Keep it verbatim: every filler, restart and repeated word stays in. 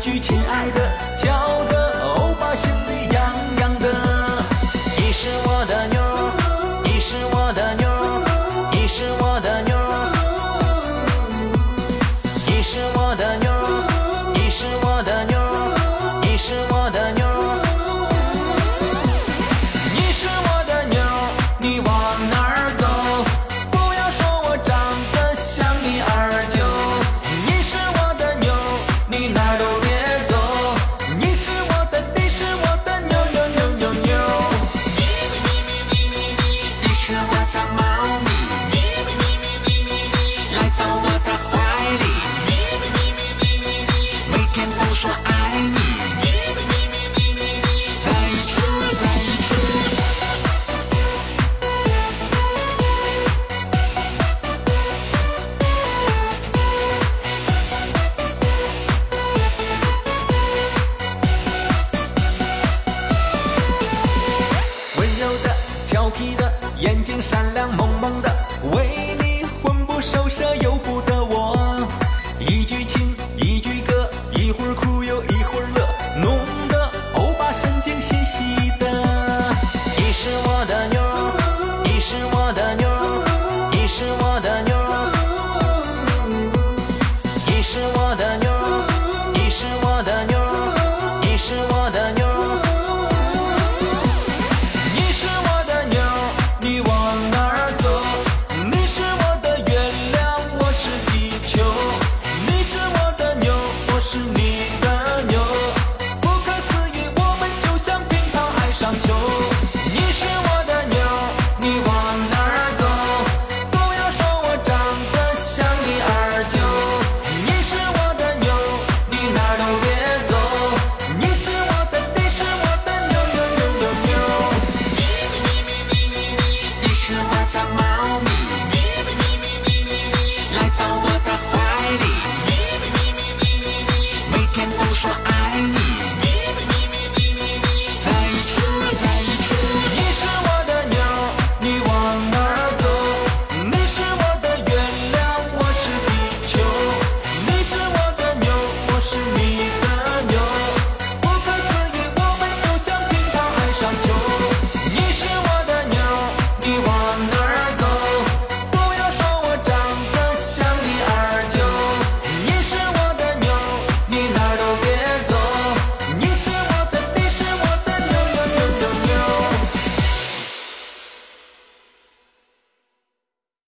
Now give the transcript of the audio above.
句亲爱的，叫的欧巴心里痒痒的。你是我的妞，你是我的妞，你是我的妞，你是我的妞，你是我的妞，你是我的妞，你是我的妞，你往哪儿走？不要说我长得像你二舅。你是我的妞，你哪儿都别走。你是我的，你是我的妞妞妞妞妞。咪咪咪咪咪咪咪，你是我的猫咪。咪咪咪咪咪咪咪，来到我的怀里。咪咪咪咪咪咪咪，每天都说爱你。咪咪咪咪咪咪咪，在一起在一起。温柔的，调皮的，眼睛闪亮萌萌的，为你魂不守舍由不得我。一句情，一句歌，一会儿哭又一会儿乐，弄得欧巴神经兮兮的。你是我的妞，你是我的妞，你是我的妞，你是我的妞，你是我的妞，你是我的妞。你是我的妞，你往哪儿走？你是我的月亮，我是地球。你是我的妞，我是你的妞，不可思议，我们就像乒乓爱上球。你是我的妞，你往哪儿走？不要说我长得像你二舅。你是我的妞，你哪儿都别走。你是我的，你是我的妞妞妞妞妞。咪咪咪咪咪咪咪，你是我的猫咪。咪咪咪咪咪咪咪，来到我的怀里。咪咪咪咪咪咪咪，每天都说爱你。咪咪咪咪咪咪咪，在一起在一起。你是我的妞，你往哪儿走？你是我的月亮，我是地球。你是我的妞，我是你的妞，不可思议，我们就像乒乓爱上球。